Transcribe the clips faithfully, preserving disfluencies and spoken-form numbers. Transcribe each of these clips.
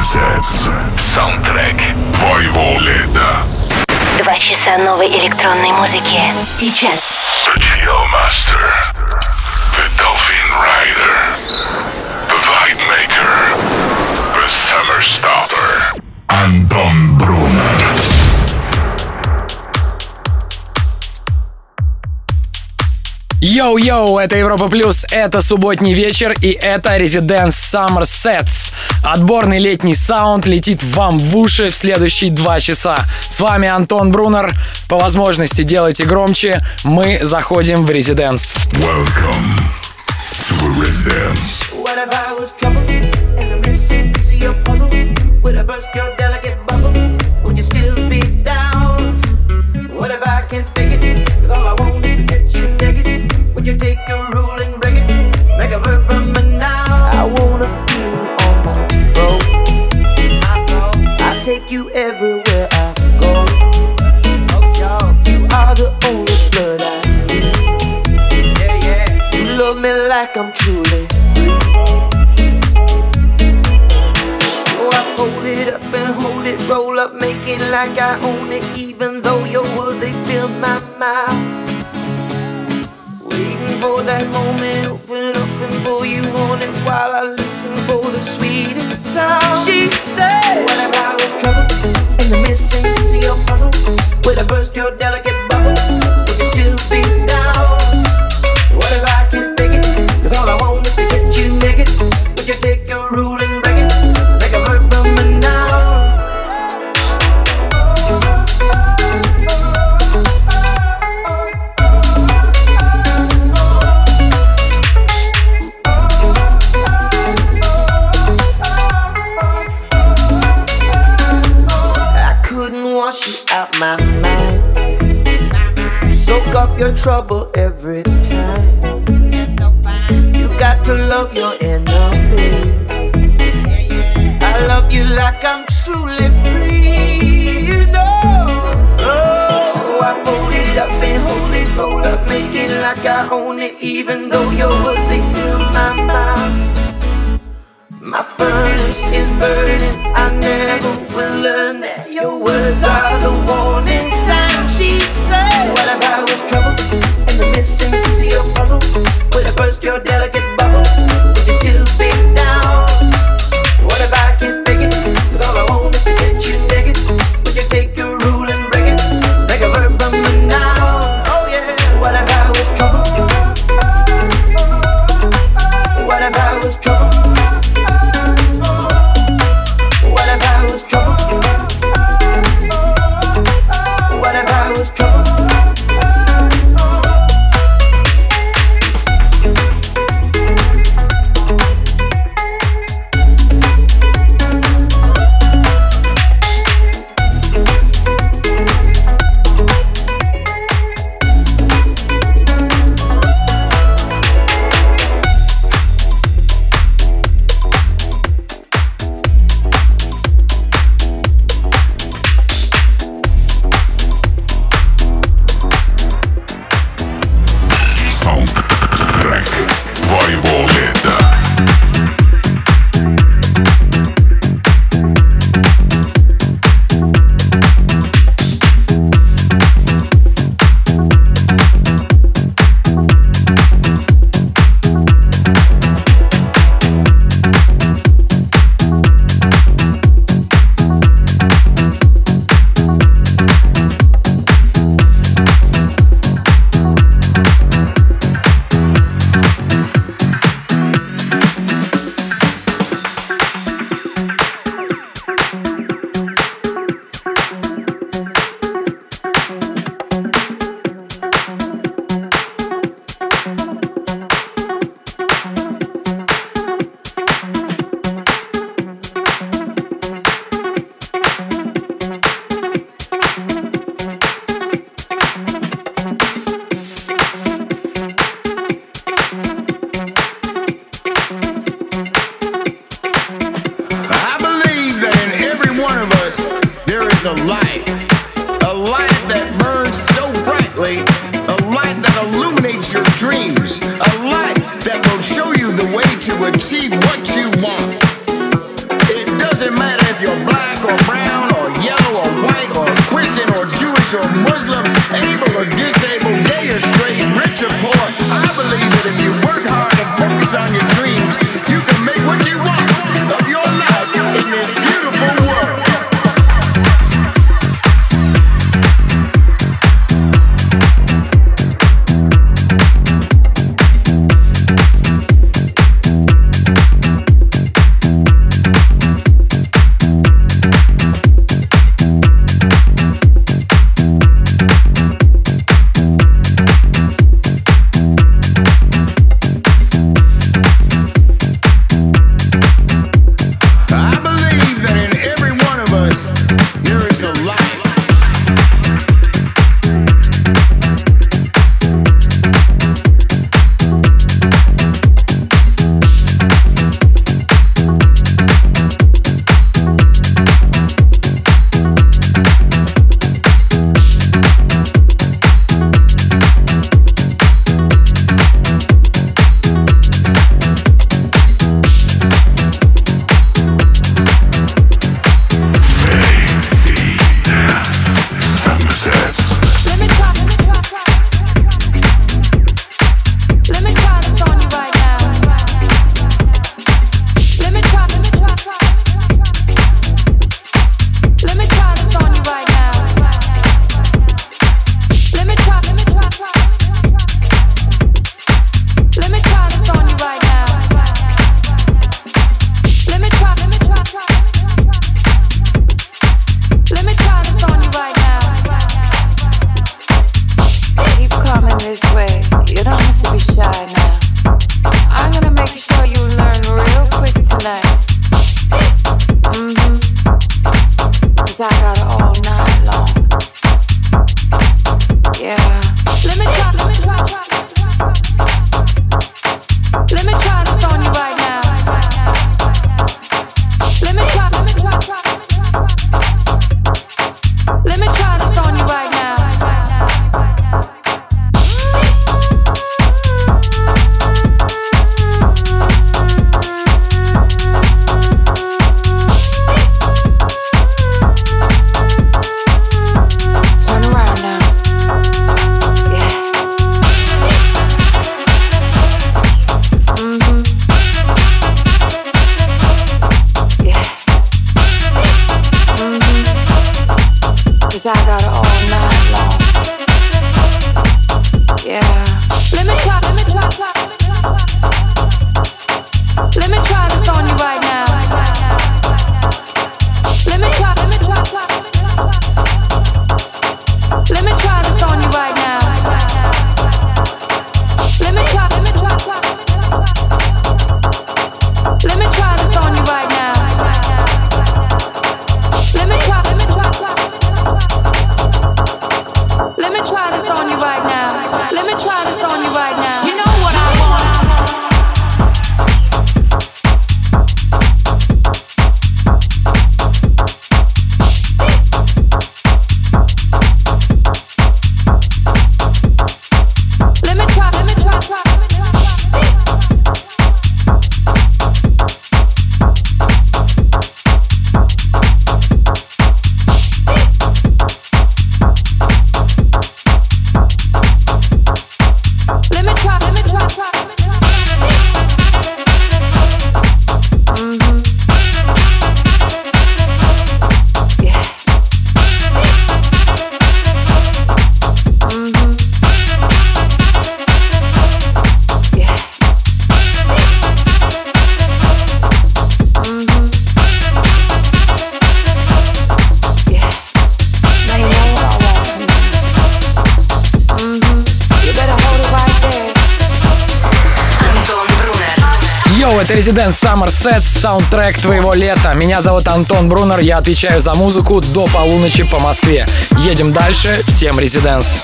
Sets. Саундтрек твоего лета. Два часа новой электронной музыки. Сейчас. The Chill Master. The Dolphin Rider. The Vibe Maker. The Summer Starter. Антон Брунер. Йоу-йоу, это Европа Плюс, это субботний вечер и это Residence Summer Sets. Отборный летний саунд летит вам в уши в следующие два часа. С вами Антон Брунер. По возможности делайте громче, мы заходим в Residence. Welcome to Residence. What if I was trouble in the missing piece of your puzzle? Would I burst your delicate bubble? Would you still be down? What if I can't fake it? Cause all I want is to get you naked. Would you take a rule and break it? Make a verb from a noun. I wanna feel you on my throat. My throat. I take you everywhere I go. Oh, you are the only blood I need. Yeah, yeah. You love me like I'm truly free. So I hold it up and hold it, roll up, make it like I own it, even though your words they fill my mouth. Waiting for that moment, open up and pour you on it while I listen for the sweetest sound. She said, what if I was trouble in the missing piece of your puzzle? Would I burst your delicate bubble? Would you still be down? What if I can't fake it? Cause all I want is to get you naked. Would you take your rule and break it? Make a verb from a noun. Wash you out my mind. Soak up your trouble every time. You got to love your enemy. I love you like I'm truly free, you know. Oh, so I fold it up and hold it, roll up, make it like I own it, even though your words they fill my mouth. My furnace is burning, I never will learn that your words are the warning sign. She said, what if I was trouble in the missing piece of your puzzle? Would I burst your delicate bubble? Would you still be down? What if I can't fake it? Cause all I want is to get you naked. Would you take your rule and break it? Make a verb from a noun. Oh yeah. What if I was trouble? What if I was trouble? a light, a light that burns so brightly, a light that illuminates your dreams, a light that will show you the way to achieve what you want. It doesn't matter 'cause I got it all night long. Yeah. Let me try, let me try, try. Let me try this on you right now. Let me try, let me try, try. Let me try this on you right now. Let me try, let me try, try. Let me try this on you right now. Let me try, let me try, try. Let me try this on you right now. Let me try this on you right now. You know what I want. Это Residence Summer Sets, саундтрек твоего лета. Меня зовут Антон Брунер, я отвечаю за музыку до полуночи по Москве. Едем дальше, всем Residence.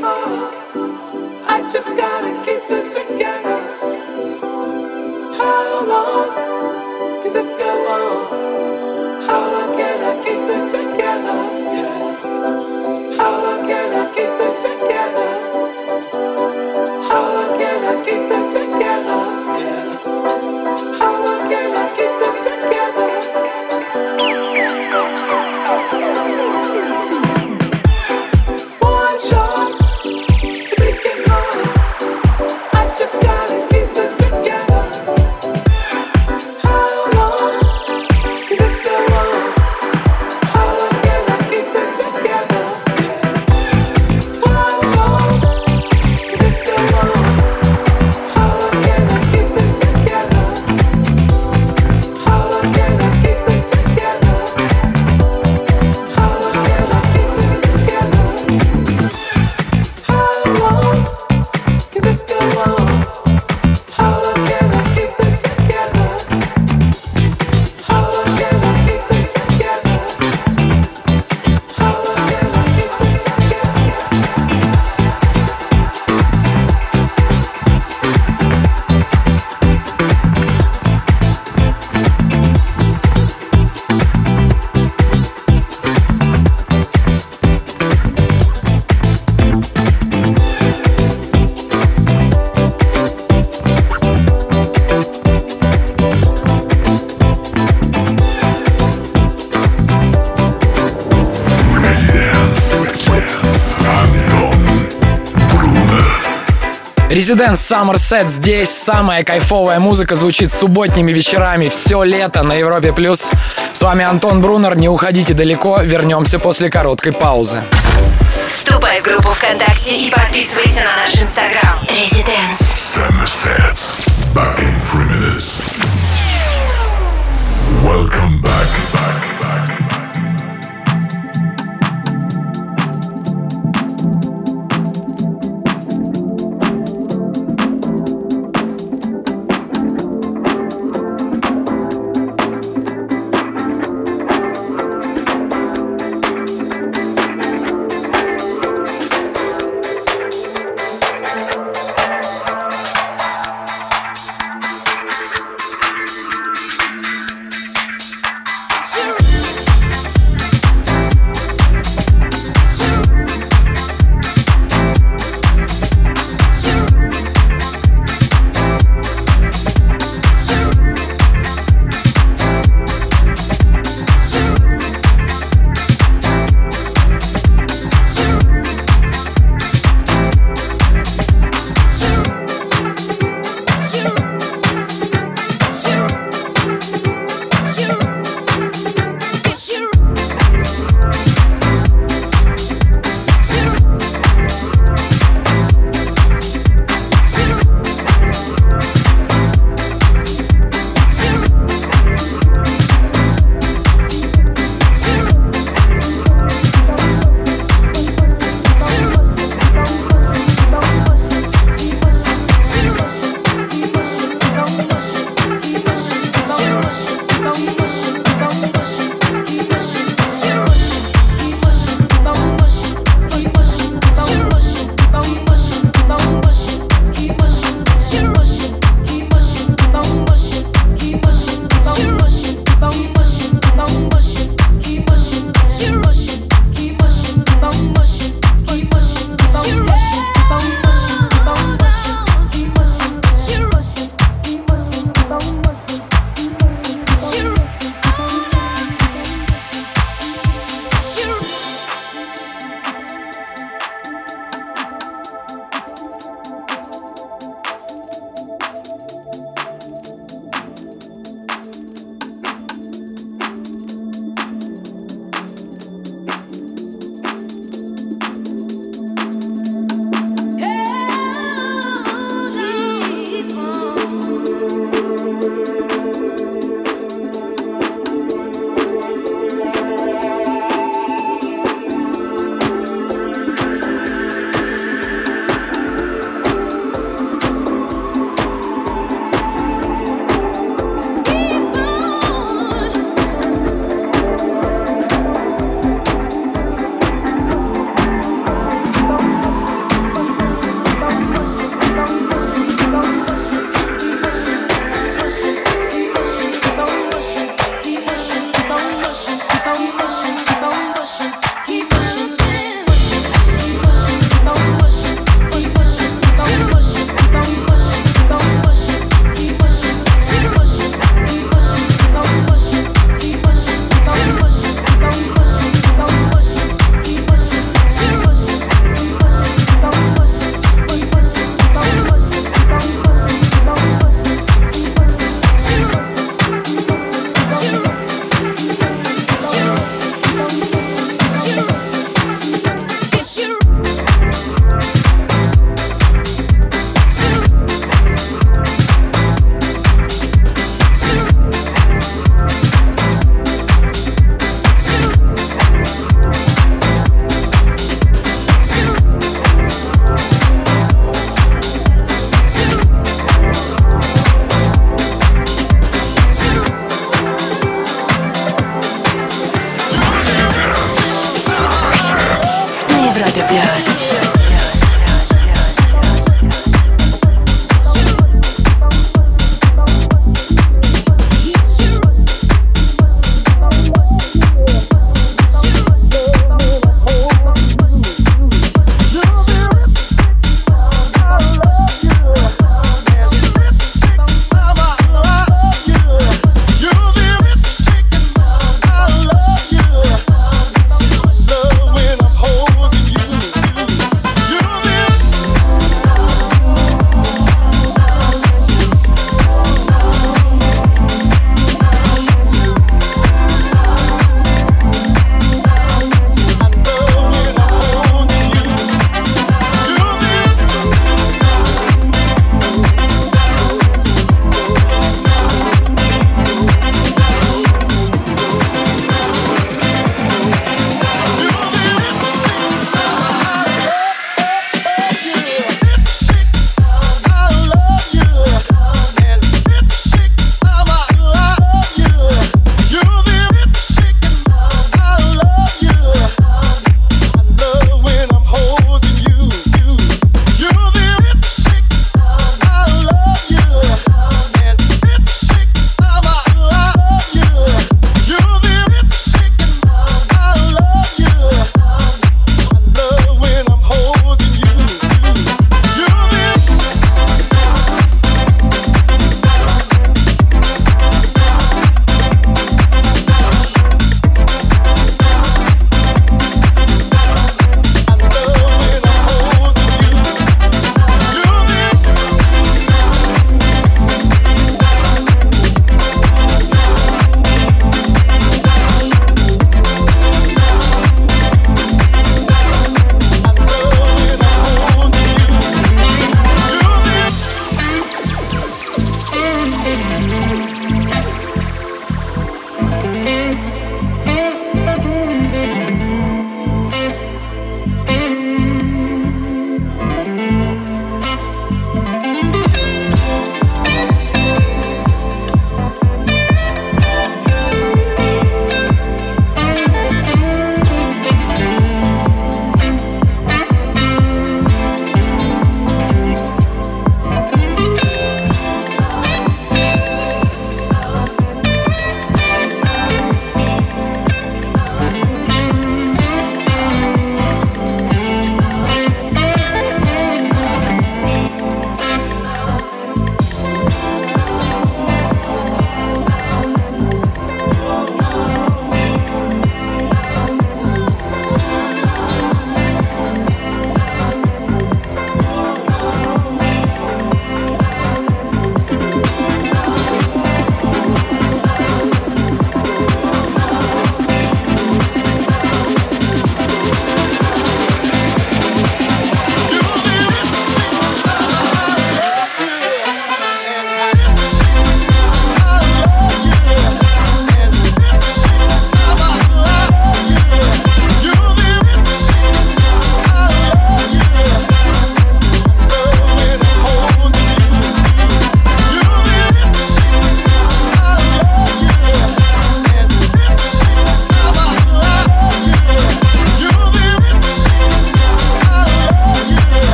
hard. I just gotta keep it together. How long can this go on? How long can I keep it together? Yeah. How long can I keep it together? How long can I keep it together? Yeah. How long can I keep it together? One shot to make it hard. I just gotta keep it together. How long can this go on? How long can I keep it together? One shot can this go on? How long can I keep it together? How long can I keep it together? How long can I keep it together? How long can this go on? How long can I keep it together? How long can I keep it together? How long can I keep it Residence. Антон Брунер. Residence Summer Set здесь. Самая кайфовая музыка звучит субботними вечерами все лето на Европе+. плюс. С вами Антон Брунер. Не уходите далеко. Вернемся после короткой паузы. Вступай в группу ВКонтакте и подписывайся на наш Инстаграм. Residence. Summer Sets. Back in three minutes. Welcome back. back, back.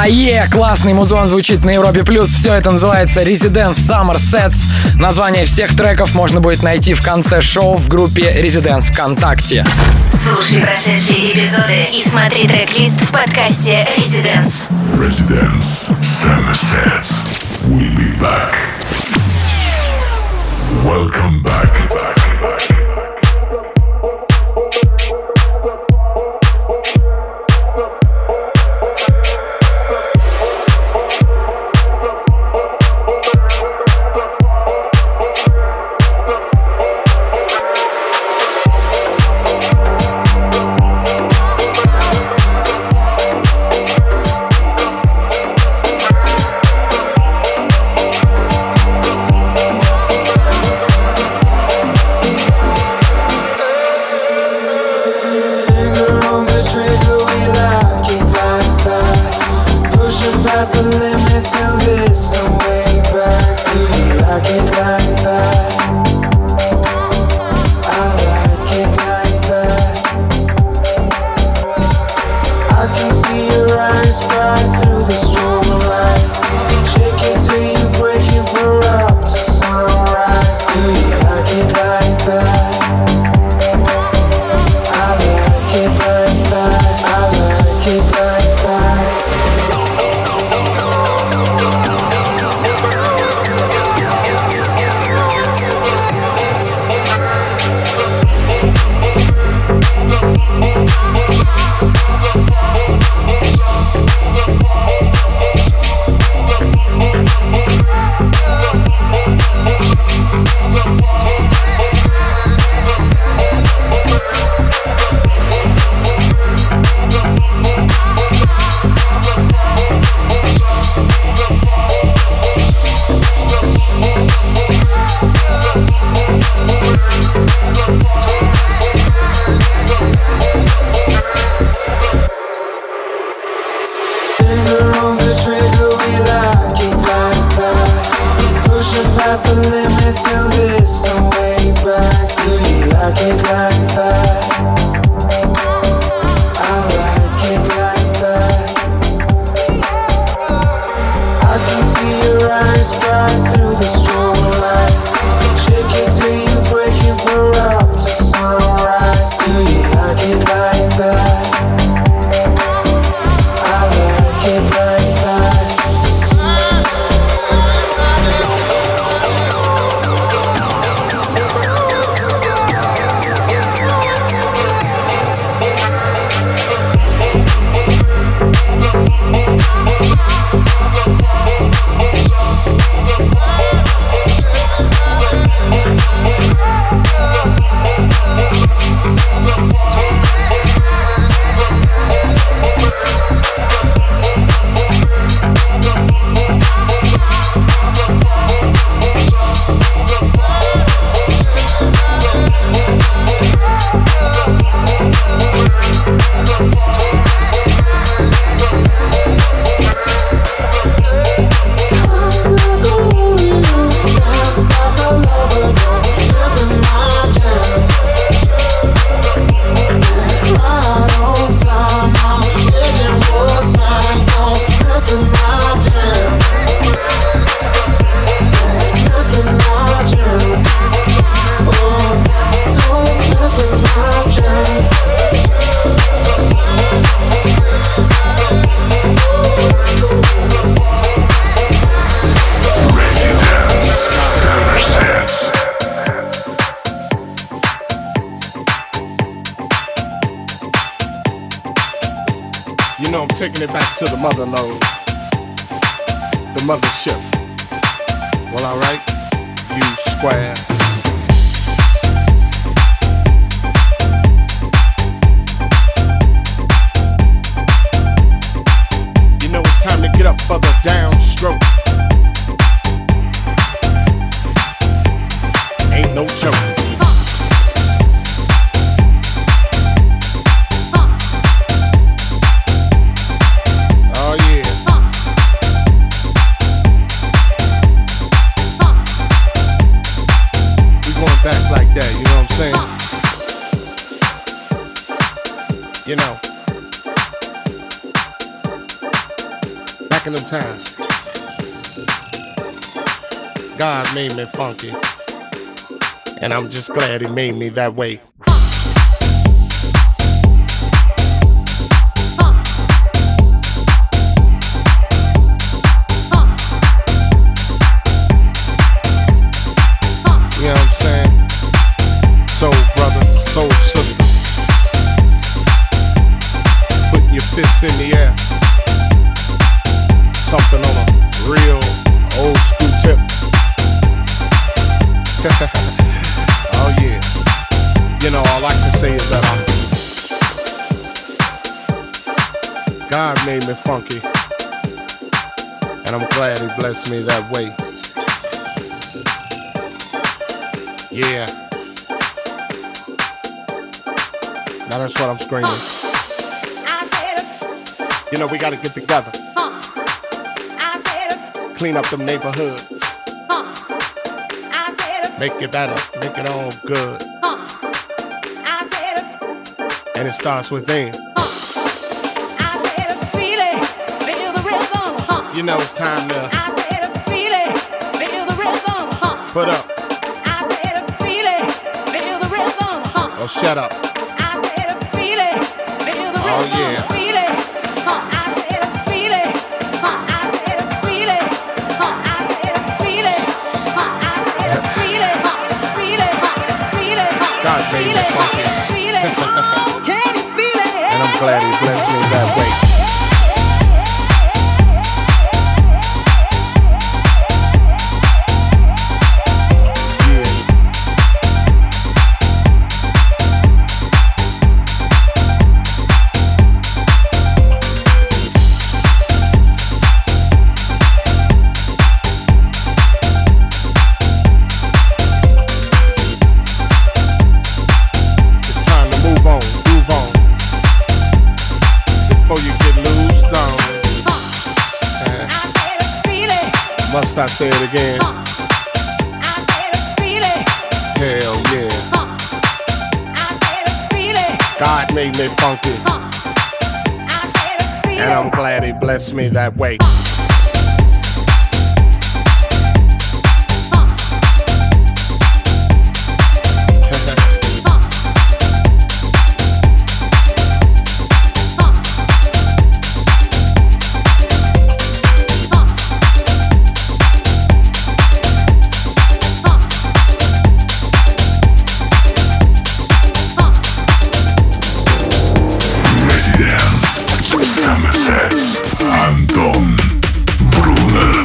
е, классный музон звучит на Европе Плюс. Все это называется Residence Summer Sets. Название всех треков можно будет найти в конце шоу в группе Residence ВКонтакте. Слушай прошедшие эпизоды и смотри трек-лист в подкасте Residence. Residence Summer Sets. We'll be back. Welcome back. Taking it back to the mother lode, the mothership. Well, alright, you squares. You know it's time to get up for the downstroke. Ain't no joke. Back like that, you know what I'm saying? You know. back in them times. God made me funky, and I'm just glad he made me that way. You know what I'm saying? Soul brothers, soul sisters, putting your fists in the air. Something on a real old school tip. Oh yeah. You know, all I can say is that I'm God made me funky, and I'm glad he blessed me that way. Yeah. Now that's what I'm screaming. You know, we gotta get together. Clean up them neighborhoods. Make it better, make it all good. And it starts within. You know it's time to put up. Oh, shut up. Oh, yeah. God made me funky. And I'm glad he blessed me that way. Must I say it again? Uh, I said feel it. Hell yeah. Uh, I said feel it. God made me funky. Uh, I said feel and I'm glad he blessed me that way. Uh, Антон Брунер.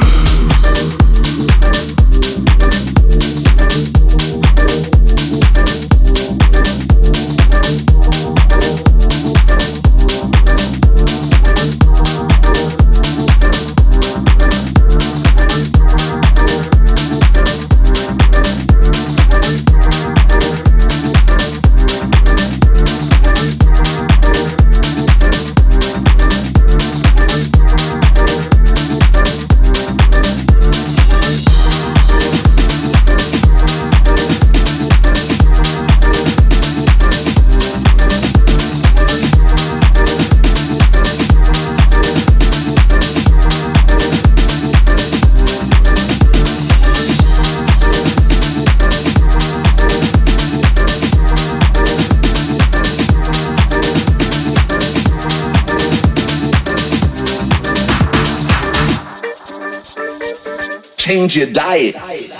Change your diet.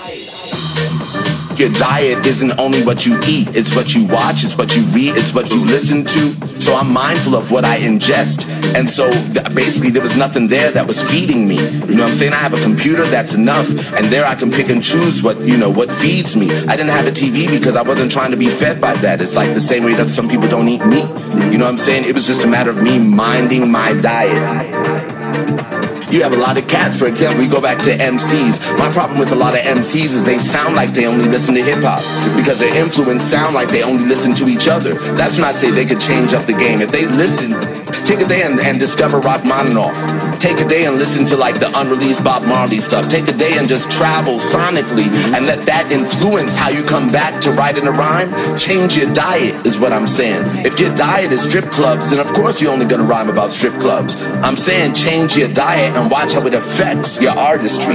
Your diet isn't only what you eat, it's what you watch, it's what you read, it's what you listen to. So I'm mindful of what I ingest. And so th- basically there was nothing there that was feeding me. You know what I'm saying? I have a computer, that's enough. And there I can pick and choose what, you know, what feeds me. I didn't have a T V because I wasn't trying to be fed by that. It's like the same way that some people don't eat meat. You know what I'm saying? It was just a matter of me minding my diet. You have a lot of cats, for example, you go back to M Cs. My problem with a lot of M Cs is they sound like they only listen to hip-hop because their influence sound like they only listen to each other. That's when I say they could change up the game. If they listen, Take a day and, and discover Rachmaninoff. Take a day and listen to like the unreleased Bob Marley stuff. Take a day and just travel sonically and let that influence how you come back to writing a rhyme. Change your diet is what I'm saying. If your diet is strip clubs, then of course you're only gonna rhyme about strip clubs. I'm saying change your diet and watch how it affects your artistry.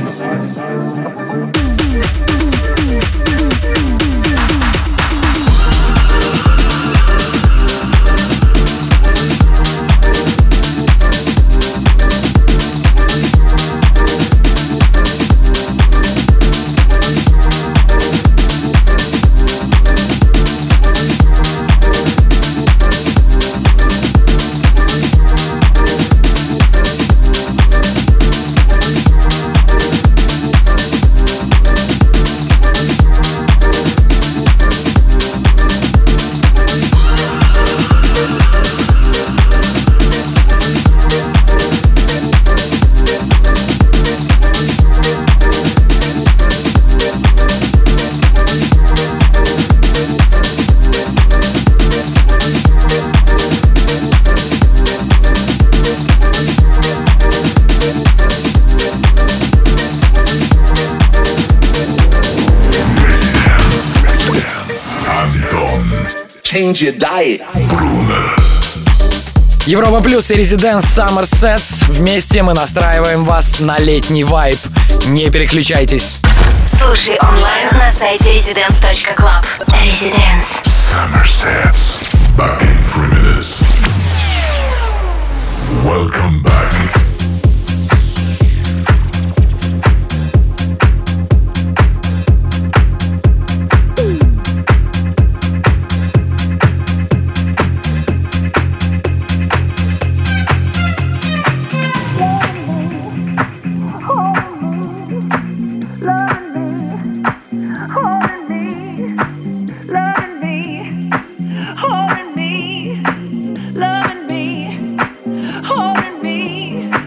Change your diet. Европа Плюс и Residence Summer Sets. Вместе мы настраиваем вас на летний вайб. Не переключайтесь. Слушай онлайн на сайте residence точка club. Residence. Summer Sets. Back in three minutes. Welcome back. Holding me, loving me, holding me.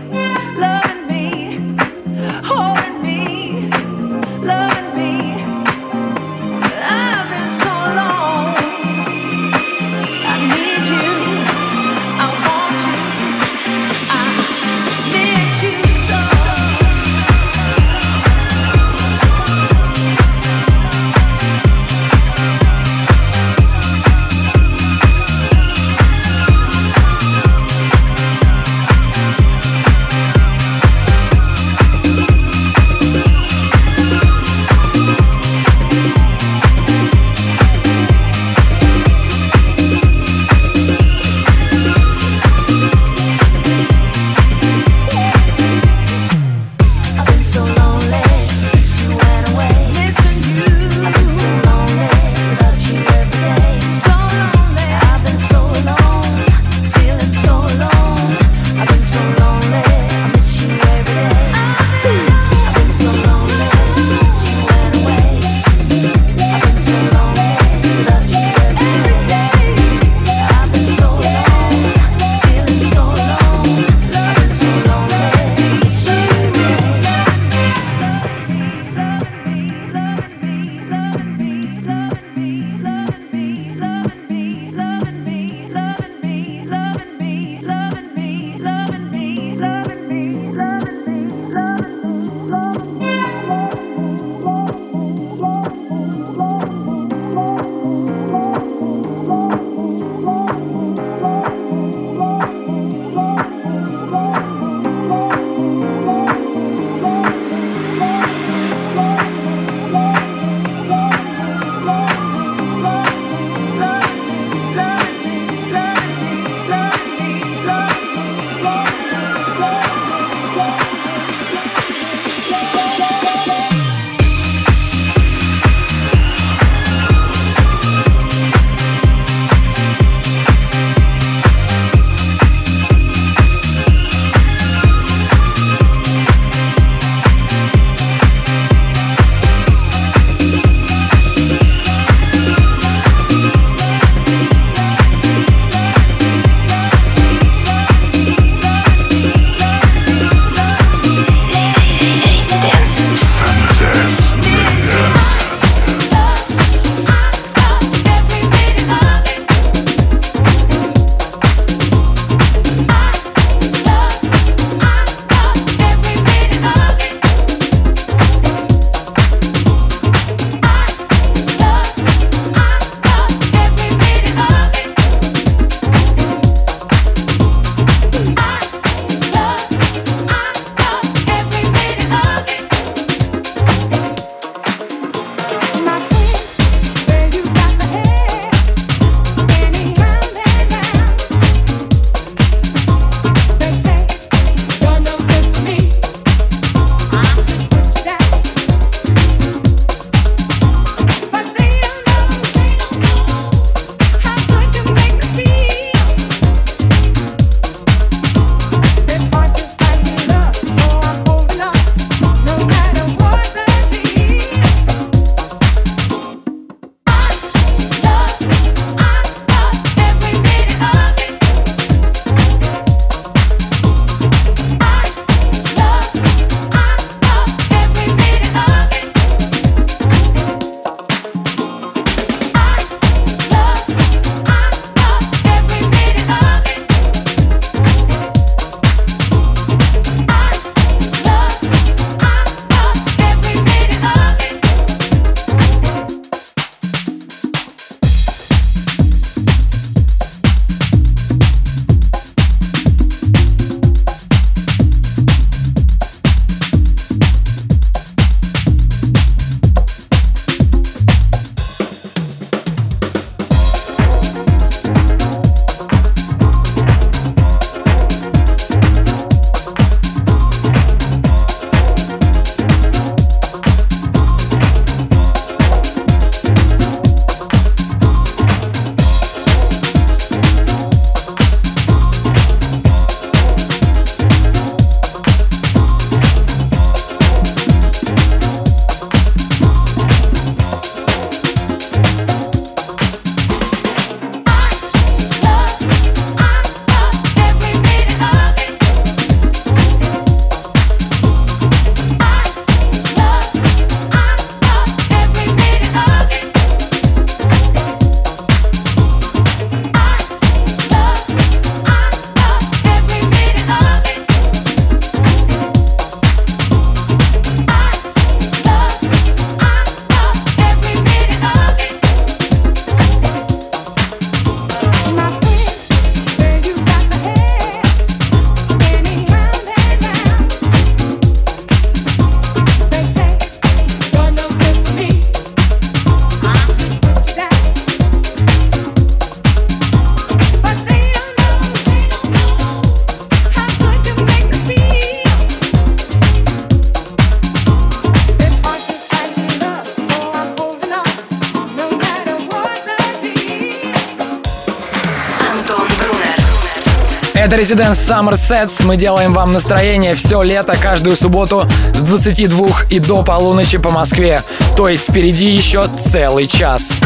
Это Residence Summer Sets. Мы делаем вам настроение все лето, каждую субботу с двадцати двух и до полуночи по Москве. То есть впереди еще целый час.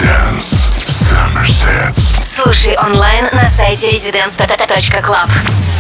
Residence Summer Sets. Слушай онлайн на сайте residence точка club.